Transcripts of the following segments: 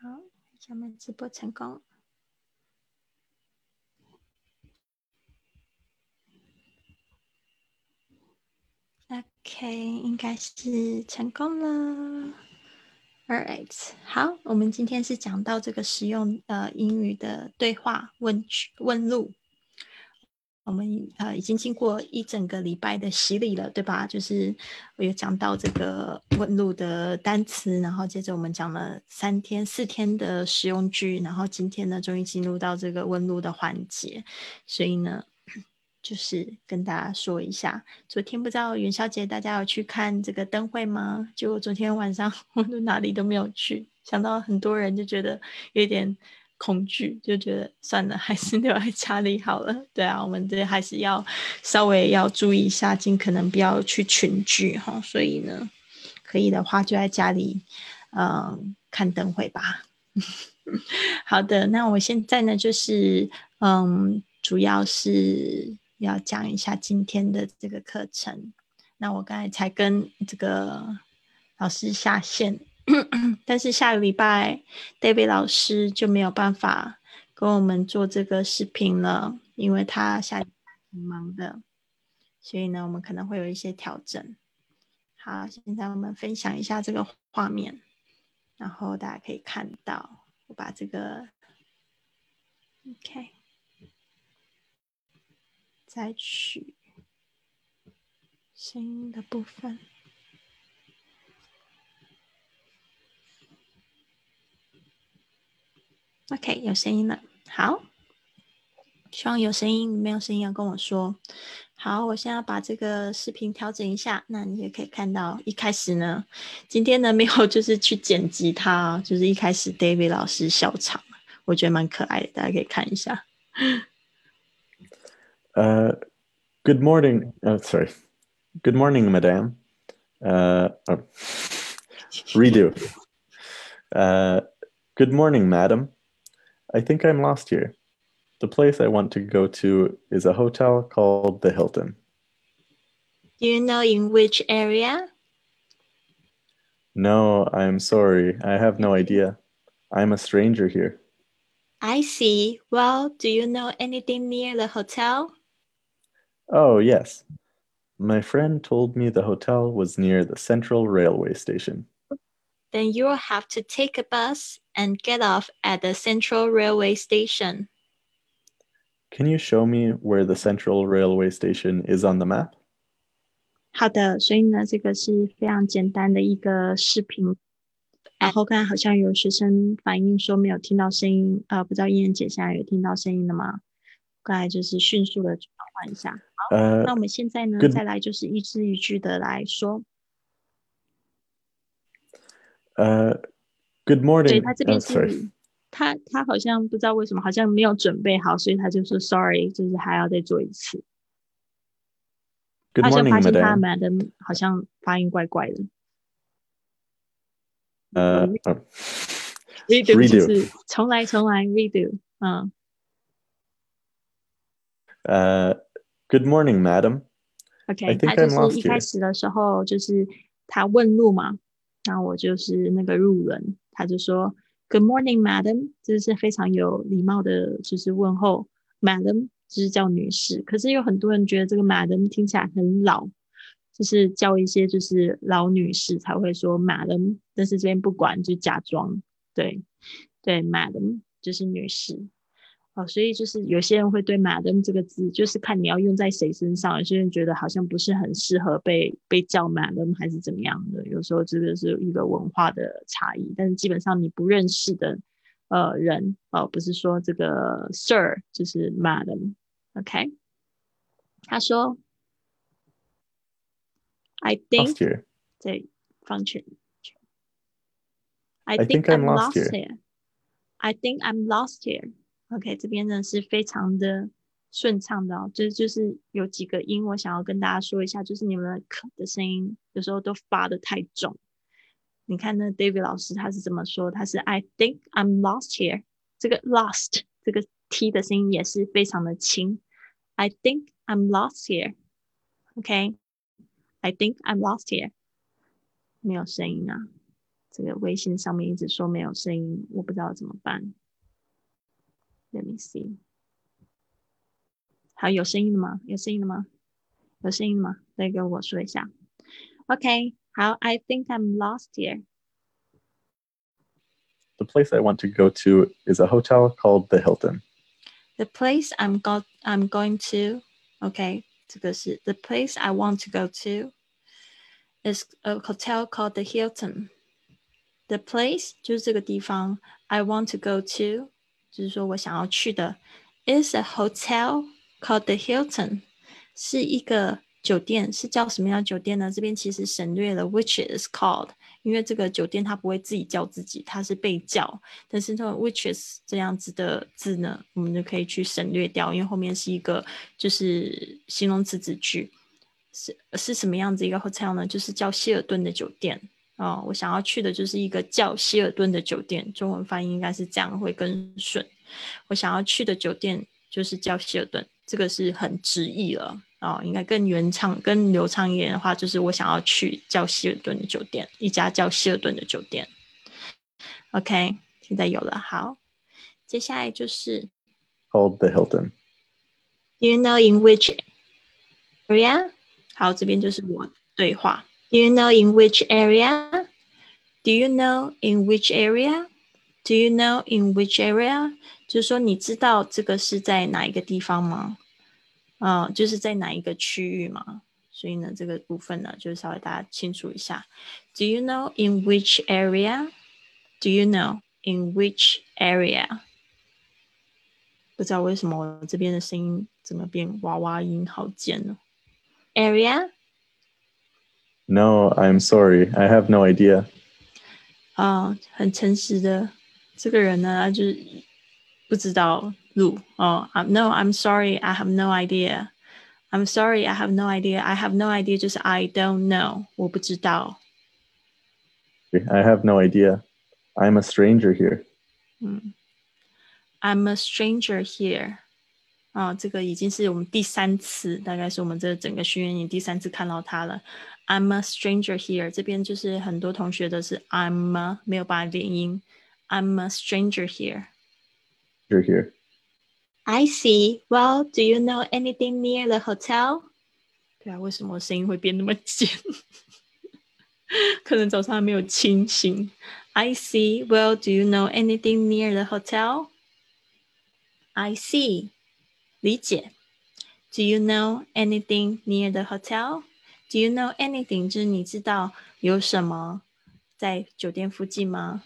好，咱们直播成功。OK， 应该是成功了。Alright， 好，我们今天是讲到这个实用英语的对话问路。我们已经经过一整个礼拜的洗礼了，对吧？就是我有讲到这个问路的单词，然后接着我们讲了4天的实用句，然后今天呢，终于进入到这个问路的环节。所以呢，就是跟大家说一下，昨天不知道元宵节大家有去看这个灯会吗？结果昨天晚上我都哪里都没有去，想到很多人就觉得有点恐惧，就觉得算了，还是留在家里好了。对啊，我们这还是要稍微要注意一下，尽可能不要去群聚哈。所以呢，可以的话就在家里看灯会吧。好的，那我现在呢就是主要是要讲一下今天的这个课程。那我刚才才跟这个老师下线但是下个礼拜 David 老师就没有办法跟我们做这个视频了，因为他下礼拜挺忙的，所以呢我们可能会有一些调整。好，现在我们分享一下这个画面，然后大家可以看到我把这个 OK 再取声音的部分。OK， 有声音了。好，希望有声音，没有声音要跟我说。好，我现在把这个视频调整一下，那你也可以看到，一开始呢，今天呢没有就是去剪辑它，就是一开始 David 老师笑场，我觉得蛮可爱的，大家可以看一下。 Good morning. Sorry. Good morning, madam. Redo. Good morning, madam. I think I'm lost here. The place I want to go to is a hotel called the Hilton. Do you know in which area? No, I'm sorry. I have no idea. I'm a stranger here. I see. Well, do you know anything near the hotel? Oh, yes. My friend told me the hotel was near the Central Railway Station. Then you'll have to take a bus and get off at the Central Railway Station. Can you show me where the Central Railway Station is on the map? 好的，所以呢，这个是非常简单的一个视频。然后刚才好像有学生反映说没有听到声音，不知道燕姐现在有听到声音了吗？刚才就是迅速的转换一下。好，那我们现在呢，再来就是一字一句的来说。 Good morning. 对，他这边是 Sorry. 他好像不知道为什么，好像没有准备好，所以他就说 sorry，就是还要再做一次。 Good 好像 morning, 发现他 madam. madam 好像发音怪怪的。redo 就是重来redo。 Good morning, madam. I OK， 他 think 就 I'm 是 lost 一开 here. 始的时候就是他问路嘛，然后我就是那个路人，他就说 Good morning, madam， 这是非常有礼貌的，就是问候 madam， 就是叫女士。可是有很多人觉得这个 madam 听起来很老，就是叫一些就是老女士才会说 madam， 但是这边不管就假装对 madam 就是女士。所以就是有些人会对 madam 这个字，就是看你要用在谁身上。有些人觉得好像不是很适合被叫 madam 还是怎么样的。有时候这个是一个文化的差异，但是基本上你不认识的人不是说这个 sir 就是 madam。OK， 他说 I think Lost here. 在放权 I I think think I'm I'm lost lost here. here. I think I'm lost here. OK， 这边呢是非常的顺畅的哦，就是有几个音我想要跟大家说一下，就是你们的可的声音有时候都发的太重。你看那 David 老师他是怎么说？他是 I think I'm lost here。这个 lost 这个 T 的声音也是非常的轻。I think I'm lost here。OK，I think I'm lost here。没有声音啊， 这个微信上面一直说没有声音，我不知道怎么办。Let me see。好，有声音了吗？有声音了吗？有声音了吗？再跟我说一下。OK， 好 ，I think I'm lost here. The place I want to go to is a hotel called the Hilton. The place I'm going to, OK， 这个是 the place I want to go to is a hotel called the Hilton. The place 就是这个地方 I want to go to 就是说我想要去的 is a hotel called the Hilton 是一个酒店，是叫什么样的酒店呢？这边其实省略了 which is called， 因为这个酒店它不会自己叫自己，它是被叫，但是这种 which is 这样子的字呢，我们就可以去省略掉，因为后面是一个就是形容词子句。是什么样子一个 hotel 呢？就是叫希尔顿的酒店。我想要去的就是一个叫希尔顿的酒店，中文翻译应该是这样会更顺。我想要去的酒店就是叫希尔顿，这个是很直译了应该更原唱、更流畅一点的话，就是我想要去叫希尔顿的酒店，一家叫希尔顿的酒店。OK， 现在有了，好，接下来就是 called the Hilton. Do you know in which area？ 好，这边就是我对话。Do you know in which area? Do you know in which area? Do you know in which area? 就是说你知道这个是在哪一个地方吗？就是在哪一个区域吗？所以呢，这个部分呢，就是稍微大家清楚一下。Do you know in which area? Do you know in which area? 不知道为什么我这边的声音怎么变娃娃音，好尖呢 ？Area? No, I'm sorry. I have no idea. 很诚实的这个人呢，他就是不知道路No, I'm sorry, I have no idea. I'm sorry, I have no idea. I have no idea 就是 I don't know， 我不知道。 I have no idea. I'm a stranger here. I'm a stranger here. 这个已经是我们第3次，大概是我们这整个训练营第3次看到它了。I'm a stranger here， 这边就是很多同学的是 I'm a 没有把它连音。I'm a stranger here. You're here. I see. Well, do you know anything near the hotel? 对啊，为什么声音会变那么尖？可能早上还没有清醒。I see. Well, do you know anything near the hotel? I see. 理解。Do you know anything near the hotel? Do you know anything 就是你知道有什么在酒店附近吗？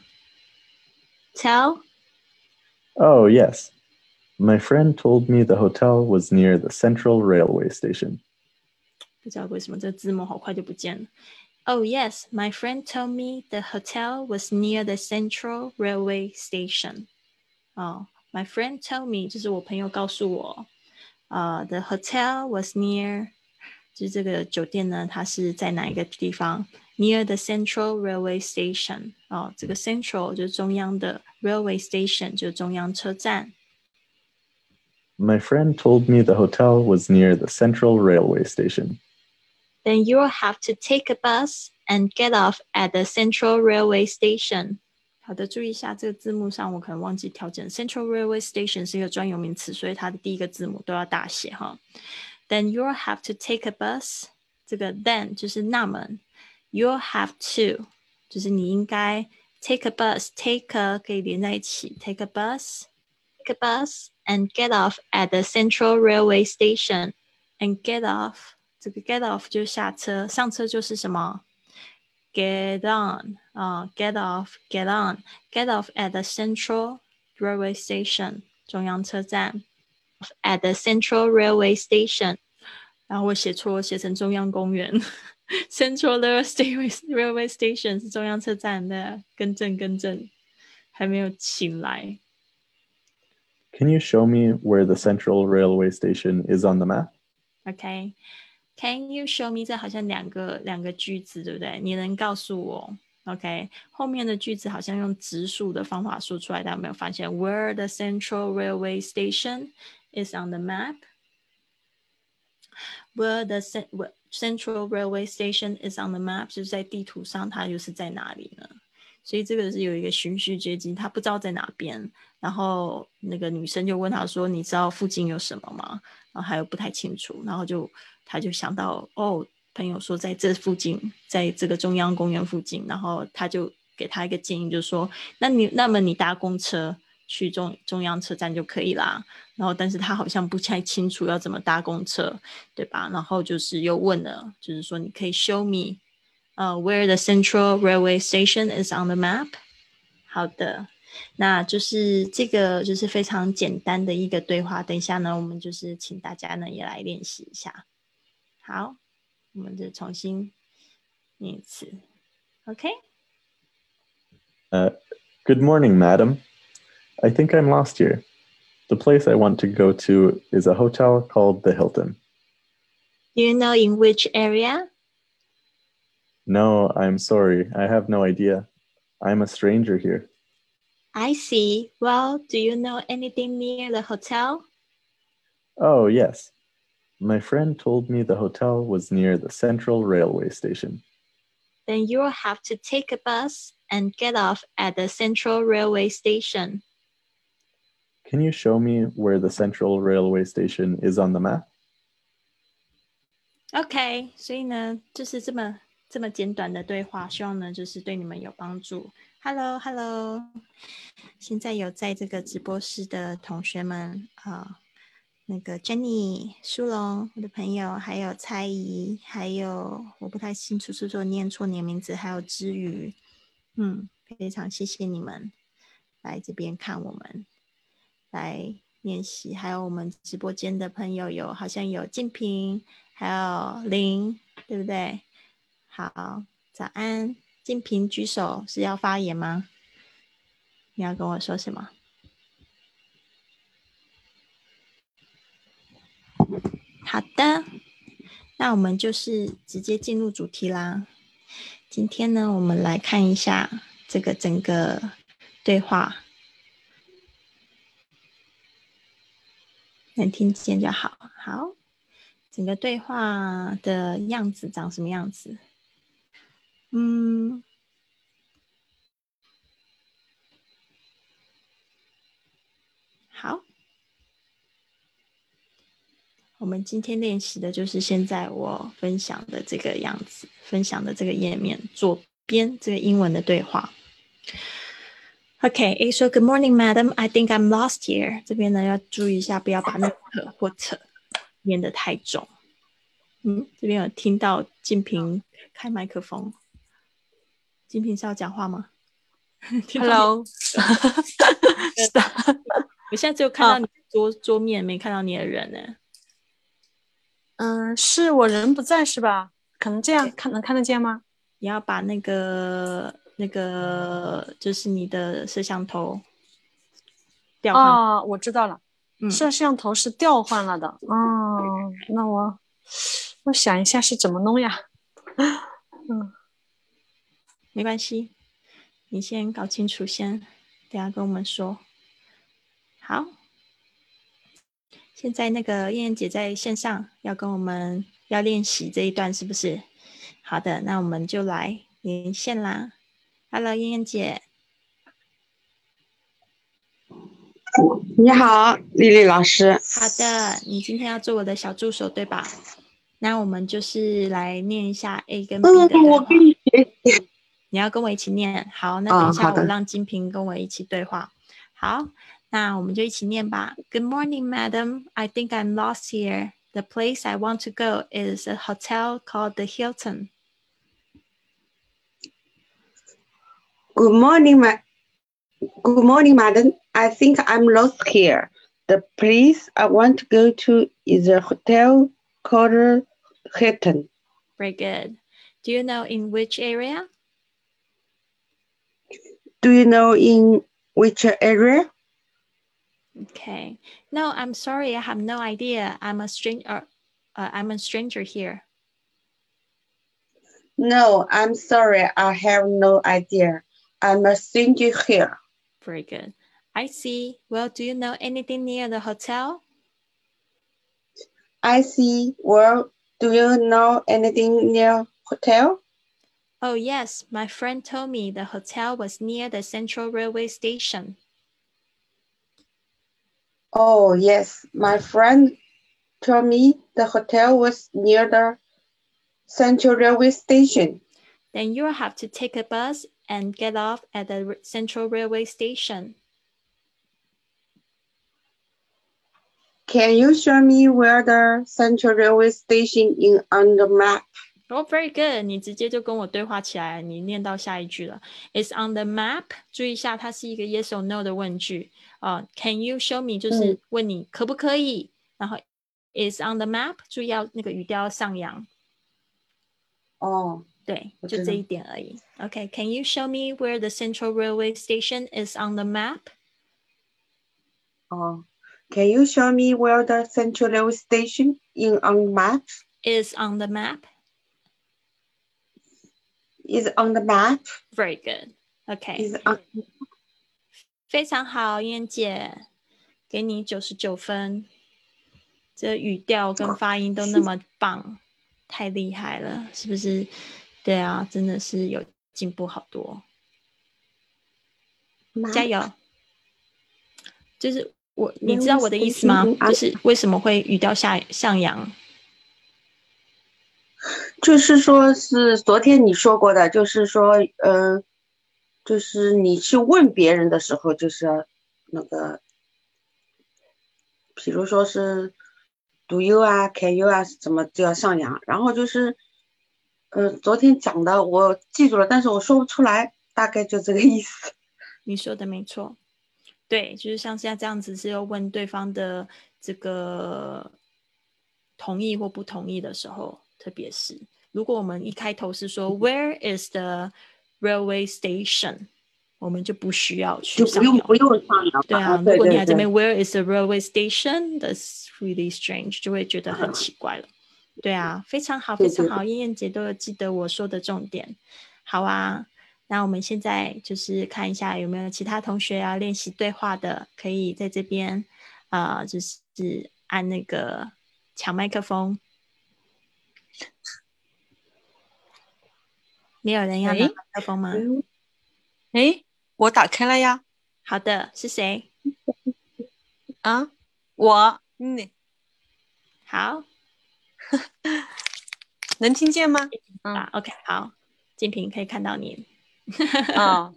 Tell? Oh, yes. My friend told me the hotel was near the Central Railway Station. 不知道为什么这字幕好快就不见了。Oh, yes, my friend told me the hotel was near the Central Railway Station. My friend told me 就是我朋友告诉我the hotel was near 就是这个酒店呢，它是在哪一个地方 ？Near the Central Railway Station。这个 Central 就是中央的 Railway Station 就是中央车站。 My friend told me the hotel was near the Central Railway Station. Then you'll have to take a bus and get off at the Central Railway Station. 好的，注意一下这个字幕上我可能忘记调整。Central Railway Station 是一个专有名词，所以它的第一个字母都要大写哈。Then you'll have to take a bus. 这个 then 就是那么 you'll have to 就是你应该 take a bus. Take a 可以连在一起 take a bus. Take a bus and get off at the Central Railway Station. And get off 这个 get off 就是下车，上车就是什么 get on get off get on get off at the Central Railway Station 中央车站 at the Central Railway Station 然后我写错，我写成中央公园Central Railway Station 是中央车站的，更正还没有醒来。 Can you show me where the Central Railway Station is on the map? OK Can you show me 这好像两个句子对不对？你能告诉我 OK 后面的句子好像用直述的方法说出来，大家有没有发现 Where the Central Railway Station is on the map? Where the Central Railway Station is on the map 就是在地图上它又是在哪里呢？ 所以这个是有一个循序渐进，他不知道在哪边，然后那个女生就问他说你知道附近有什么吗？然后还有不太清楚，然后他就想到朋友说在这附近，在这个中央公园附近，然后他就给他一个建议，就是说那么你搭公车去中央车站就可以啦。然后但是他好像不太清楚要怎么搭公车，对吧？然后就是又问了，就是说你可以 show me where the Central Railway Station is on the map。 好的，那就是这个就是非常简单的一个对话，等一下呢我们就是请大家呢也来练习一下。好，我们就重新念一次。 OK。 Good morning, madam. I think I'm lost here. The place I want to go to is a hotel called the Hilton. Do you know in which area? No, I'm sorry. I have no idea. I'm a stranger here. I see. Well, do you know anything near the hotel? Oh, yes. My friend told me the hotel was near the Central Railway Station. Then you'll have to take a bus and get off at the Central Railway Station. Can you show me where the Central Railway Station is on the map? OK， 所以呢，就是这么简短的对话，希望呢就是对你们有帮助。Hello， 现在有在这个直播室的同学们那个 Jenny、苏龙，我的朋友，还有蔡怡，还有我不太清楚是不是念错你的名字，还有知瑜，非常谢谢你们来这边看我们来练习，还有我们直播间的朋友好像有静平，还有林，对不对？好，早安，静平举手是要发言吗？你要跟我说什么？好的，那我们就是直接进入主题啦。今天呢，我们来看一下这个整个对话，能听见就好。好，整个对话的样子长什么样子？好，我们今天练习的就是现在我分享的这个样子，分享的这个页面左边这个英文的对话。OK， 说 Good morning, madam. I think I'm lost here. 这边呢要注意一下，不要把那个或扯念得太重。这边有听到静平开麦克风，静平是要讲话吗 ？Hello， 是的， 我现在只有看到你桌面，没看到你的人呢。 是我人不在是吧？可能这样能看得见吗？ 你要把那个就是你的摄像头调换。 我知道了，摄像头是调换了的。那我想一下是怎么弄呀？ 没关系，你先搞清楚先，等下跟我们说。好，现在那个燕燕姐在线上要跟我们要练习这一段是不是？好的，那我们就来连线啦。Hello， 燕燕姐。 你好，丽丽老师。 好的，你今天要做我的小助手对吧？那我们就是来念一下 A 跟 B 的对话。 我跟你学习。 你要跟我一起念。好，那等一下我让金平跟我一起对话。好，那我们就一起念吧。Good morning, madam. I think I'm lost here. The place I want to go is a hotel called the Hilton. Good morning, madam. I think I'm lost here. The place I want to go to is a hotel called Hilton. Very good. Do you know in which area? Do you know in which area? Okay. No, I'm sorry. I have no idea. I'm a stranger here. No, I'm sorry. I have no idea. I'm a stranger here. Very good. I see. Well, do you know anything near the hotel? I see. Well, do you know anything near hotel? Oh, yes, my friend told me the hotel was near the Central Railway Station. Oh, yes, my friend told me the hotel was near the Central Railway Station. Then you'll have to take a bus and get off at the Central Railway Station. Can you show me where the Central Railway Station is on the map? Oh, very good. 你直接就跟我对话起来，你念到下一句了。It's on the map. 注意一下，它是一个 yes or no 的问句。Can you show me 就是问你可不可以，然后 is on the map， 注意要那个语调要上扬。 哦， 对， 我知道。 就这一点而已。Okay, can you show me where the Central Railway Station is on the map? Oh, can you show me where the Central Railway Station is on the map? Is on the map. Is on the map. Very good. Okay. Is on. 非常好，燕姐，给你99分。这语调跟发音都那么棒，太厉害了，是不是？对啊，真的是有进步好多。加油！就是你知道我的意思吗？就是为什么会语调上扬？ 就是说是昨天你说过的，就是说，就是你去问别人的时候，就是那个，比如说是 do you 啊 can you 啊，怎么就要上扬？然后就是，昨天讲的我记住了，但是我说不出来，大概就这个意思。 你说的没错，对，就是像现在这样子是要问对方的这个同意或不同意的时候，特别是如果我们一开头是说 Where is the railway station？ 我们就不需要去上扬， 不用上扬。 对啊， 对如果你还这边 Where is the railway station？ That's really strange， 就会觉得很奇怪了。对啊，非常好，非常好，燕燕姐都有记得我说的重点。好啊，那我们现在就是看一下有没有其他同学要练习对话的，可以在这边就是按那个抢麦克风。没有人要拿麦克风吗？ 诶，我打开了呀。 好的，是谁？ 啊，我， 好， 能听见吗 ？OK， 好，静平可以看到你。 啊，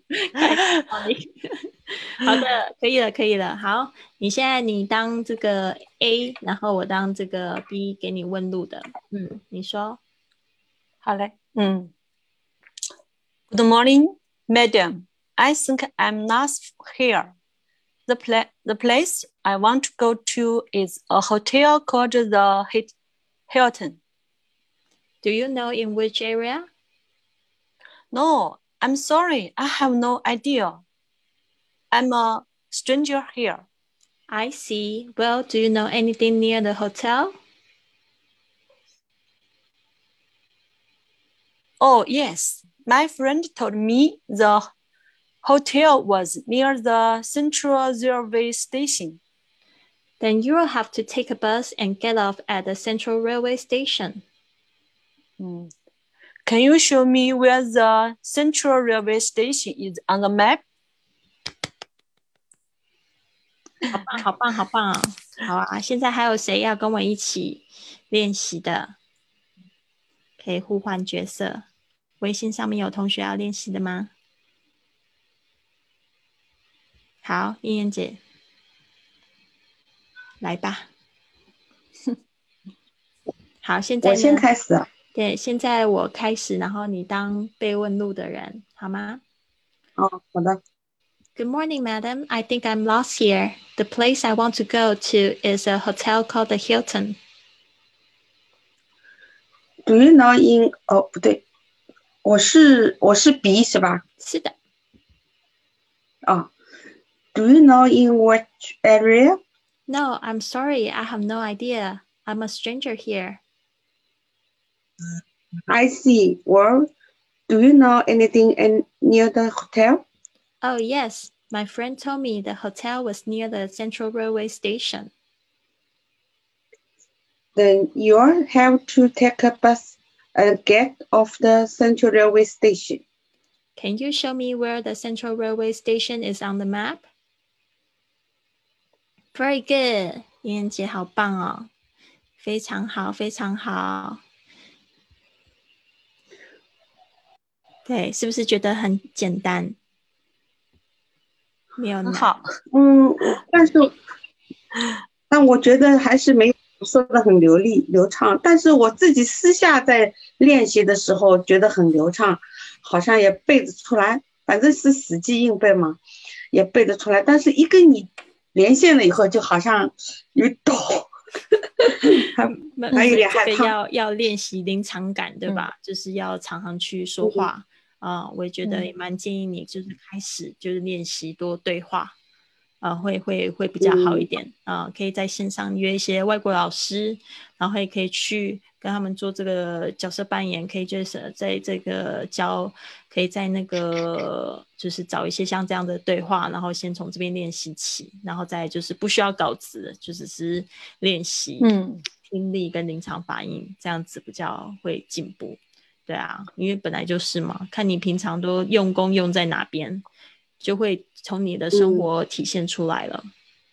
好的，可以了，可以了。好，你当这个 A， 然后我当这个 B， 给你问路的。你说。 好嘞。Good morning, madam. I think I'm last here. The place I want to go to is a hotel called the Hilton. Do you know in which area? No, I'm sorry. I have no idea. I'm a stranger here. I see. Well, do you know anything near the hotel? Oh, yes. My friend told me the hotel was near the Central Railway Station. Then you will have to take a bus and get off at the Central Railway Station. Can you show me where the Central Railway Station is on the map? 好棒，好棒，好棒！好啊，现在还有谁要跟我一起练习的？可以互换角色。微信上面有同学要练习的吗？好，燕燕姐，来吧。好，现在呢？ 我先开始。 对，现在我开始，然后你当被问路的人，好吗？ 好的。 Good morning, madam. I think I'm lost here. The place I want to go to is a hotel called the Hilton. Do you know in 不对，我是 B 是吧？ 是的。 Do you know in which area? No, I'm sorry. I have no idea. I'm a stranger here. I see. Well, do you know anything near the hotel? Oh, yes. My friend told me the hotel was near the Central Railway Station. Then you'll have to take a bus get off the Central Railway Station. Can you show me where the Central Railway Station is on the map? Very good. 妍妍姐好棒哦，非常好，非常好。对，是不是觉得很简单？没有难。 很好。 但我觉得还是没有说的很流利流畅，但是我自己私下在练习的时候觉得很流畅，好像也背得出来，反正是死记硬背嘛，也背得出来，但是一跟你连线了以后就好像有抖还有点害怕。 要练习临场感，对吧？就是要常常去说话我也觉得也蛮建议你就是开始就是练习多对话会比较好一点可以在线上约一些外国老师，然后也可以去跟他们做这个角色扮演，可以就是在这个可以在那个就是找一些像这样的对话，然后先从这边练习起，然后再就是不需要稿子，就只是练习听力跟临场反应，这样子比较会进步。对啊，因为本来就是嘛，看你平常都用功用在哪边，就会从你的生活体现出来了。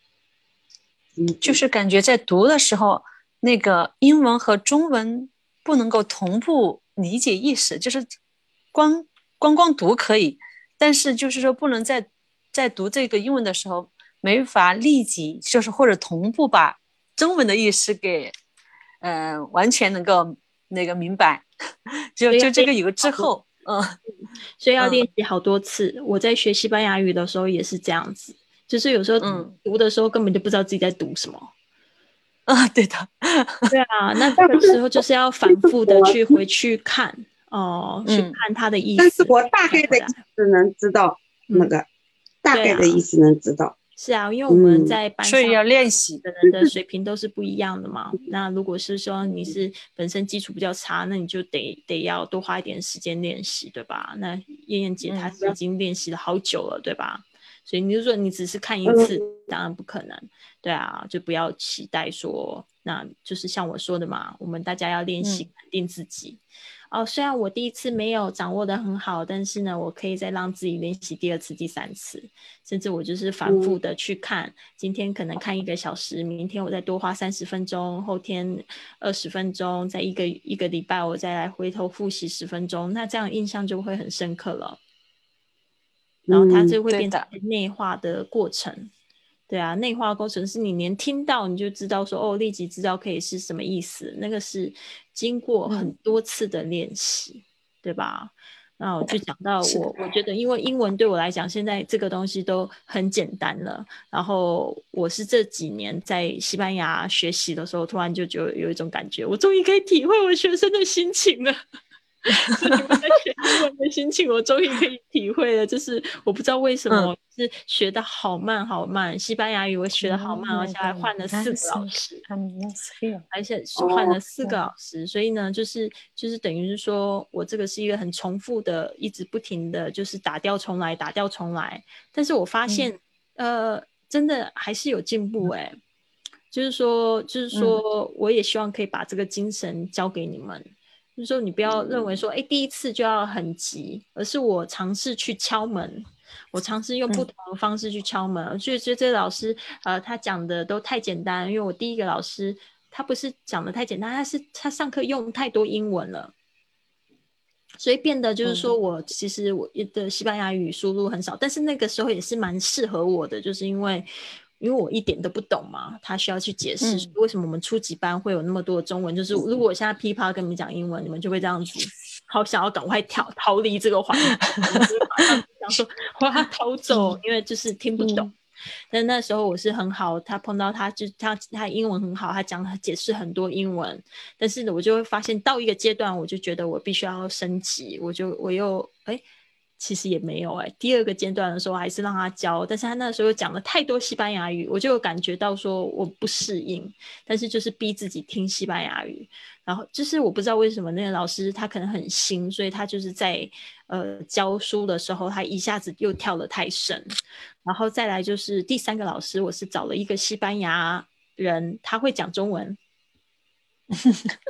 就是感觉在读的时候，那个英文和中文不能够同步理解意识，就是光读可以，但是就是说不能在读这个英文的时候没法立即就是或者同步把中文的意思给完全能够那个明白，就这个有个滞后。 所以要练习好多次。我在学西班牙语的时候也是这样子，就是有时候读的时候根本就不知道自己在读什么。 对的。 对啊，那这个时候就是要反复的回去看去看它的意思。 但是我大概的意思能知道那个大概的意思能知道。 是啊，因为我们在班上所以要练习的人的水平都是不一样的嘛。那如果是说你是本身基础比较差，那你就得要多花一点时间练习，对吧？那燕燕姐她已经练习了好久了，对吧？所以你就说你只是看一次，当然不可能。对啊，就不要期待说，那就是像我说的嘛，我们大家要练习肯定自己。虽然我第一次没有掌握的很好，但是呢，我可以再让自己练习第二次、第三次，甚至我就是反复的去看。今天可能看1个小时，明天我再多花30分钟，后天20分钟，再一个礼拜我再来回头复习10分钟，那这样印象就会很深刻了。然后它就会变成内化的过程。对啊，内化过程是你连听到你就知道说立即知道可以是什么意思，那个是经过很多次的练习，对吧？那我就讲到我觉得因为英文对我来讲现在这个东西都很简单了，然后我是这几年在西班牙学习的时候突然就有一种感觉，我终于可以体会我学生的心情了。是你们在学英文的心情我终于可以体会了，就是我不知道为什么是学得好慢好慢，西班牙语我学得好慢，而且还换了4个老师，而且换了4个老师，所以呢就是等于是说我这个是一个很重复的一直不停的就是打掉重来，但是我发现真的还是有进步就是说我也希望可以把这个精神交给你们，就是说你不要认为说第一次就要很急，而是我尝试去敲门，我尝试用不同的方式去敲门。我觉得这个老师他讲的都太简单，因为我第一个老师他不是讲的太简单，他上课用太多英文了，所以变得就是说其实我的西班牙语输入很少，但是那个时候也是蛮适合我的，就是因为我一点都不懂嘛，他需要去解释为什么我们初级班会有那么多的中文，就是如果我现在噼啪跟你们讲英文，你们就会这样子好想要赶快逃离这个环境，就是马上想说我要逃走，因为就是听不懂。但那时候我是很好，他碰到他英文很好，他解释很多英文，但是我就会发现到一个阶段我就觉得我必须要升级，我又其实也没有第二个阶段的时候还是让他教，但是他那时候讲了太多西班牙语，我就有感觉到说我不适应，但是就是逼自己听西班牙语，然后就是我不知道为什么那个老师他可能很新，所以他就是在教书的时候他一下子又跳得太深，然后再来就是第3个老师我是找了一个西班牙人，他会讲中文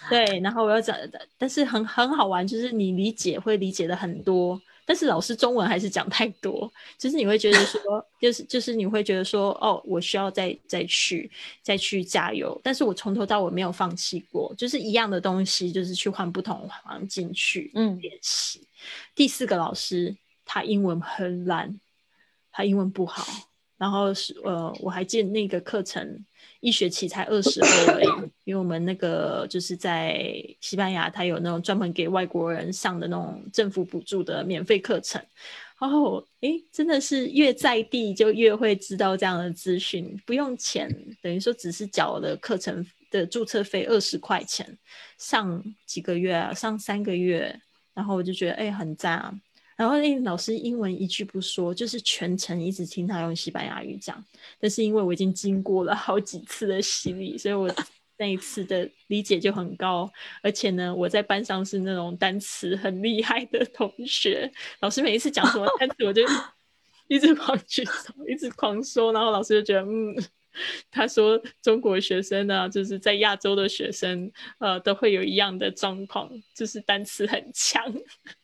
对，然后我要讲，但是很好玩，就是你会理解的很多，但是老师中文还是讲太多，就是你会觉得说，就是你会觉得说，哦，我需要再去加油，但是我从头到尾没有放弃过，就是一样的东西，就是去换不同环境去练习。第4个老师他英文很烂，他英文不好，然后我还记得那个课程1学期才20欧而已，因为我们那个就是在西班牙，他有那种专门给外国人上的那种政府补助的免费课程。然后真的是越在地就越会知道这样的资讯，不用钱，等于说只是缴了课程的注册费20块钱，上几个月啊，上3个月，然后我就觉得很赞啊。然后老师英文一句不说，就是全程一直听他用西班牙语讲，但是因为我已经经过了好几次的洗礼，所以我那一次的理解就很高，而且呢，我在班上是那种单词很厉害的同学，老师每一次讲什么单词，我就一直狂举手，一直狂说，然后老师就觉得他说中国学生呢，就是在亚洲的学生都会有一样的状况，就是单词很强。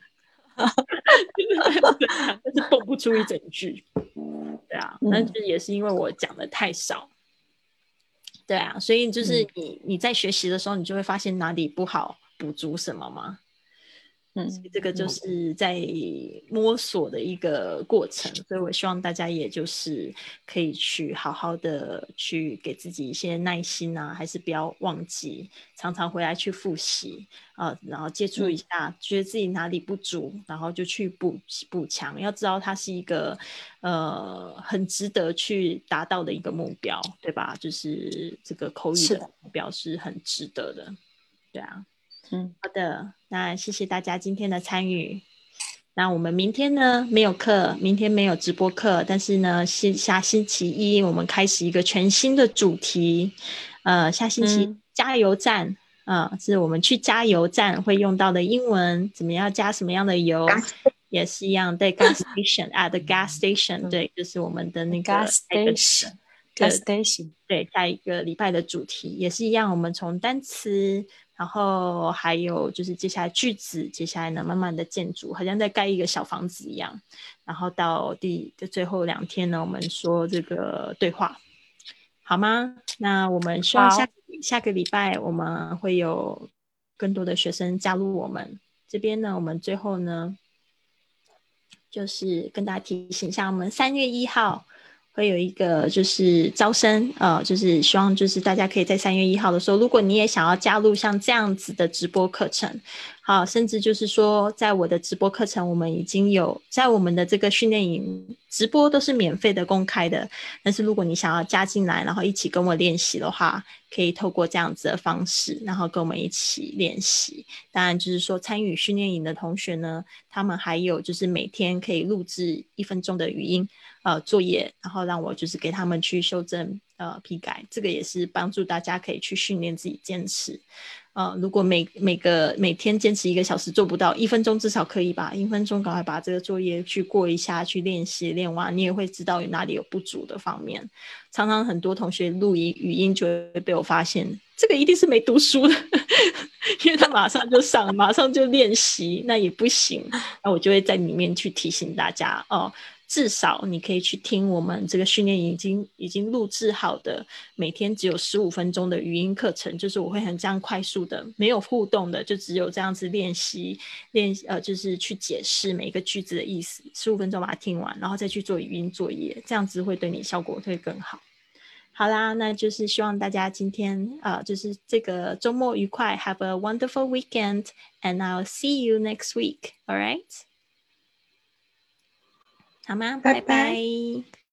但是蹦不出一整句，对啊，那就也是因为我讲的太少，对啊，所以就是你在学习的时候，你就会发现哪里不好，补足什么嘛。这个就是在摸索的一个过程，所以我希望大家也就是可以去好好的去给自己一些耐心啊，还是不要忘记，常常回来去复习然后接触一下，觉得自己哪里不足，然后就去补强。要知道它是一个很值得去达到的一个目标，对吧？就是这个口语的目标是很值得的，对啊。好的，那谢谢大家今天的参与。那我们明天呢没有课，明天没有直播课，但是呢下星期一我们开始一个全新的主题，下星期加油站是我们去加油站会用到的英文，怎么样加什么样的油，也是一样，对 gas station at the gas station，对，就是我们的那个 gas station， 对，下一个礼拜的主题也是一样，我们从单词，然后还有就是接下来句子，接下来呢慢慢的建筑，好像在盖一个小房子一样，然后到最后2天呢，我们说这个对话，好吗？那我们希望下个礼拜我们会有更多的学生加入我们这边呢。我们最后呢，就是跟大家提醒一下，我们3月1号。会有一个就是招生就是希望就是大家可以在3月1号的时候，如果你也想要加入像这样子的直播课程，好，甚至就是说在我的直播课程我们已经有在我们的这个训练营直播都是免费的公开的，但是如果你想要加进来然后一起跟我练习的话，可以透过这样子的方式然后跟我们一起练习。当然就是说参与训练营的同学呢，他们还有就是每天可以录制1分钟的语音作业，然后让我就是给他们去修正批改，这个也是帮助大家可以去训练自己坚持如果每天坚持1个小时做不到，1分钟至少可以吧，1分钟赶快把这个作业去过一下，去练习练完，你也会知道哪里有不足的方面。常常很多同学录语音就会被我发现这个一定是没读书的因为他马上就上马上就练习，那也不行，那我就会在里面去提醒大家至少你可以去听我们这个训练营已经录制好的每天只有15分钟的语音课程，就是我会很这样快速的没有互动的，就只有这样子练习就是去解释每一个句子的意思，15分钟把它听完，然后再去做语音作业，这样子会对你效果会更好。好啦，那就是希望大家今天就是这个周末愉快 Have a wonderful weekend and I'll see you next week. Alright? 好吗？拜拜。